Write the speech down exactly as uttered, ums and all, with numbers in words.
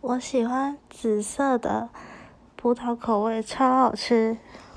我喜欢紫色的葡萄口味，超好吃。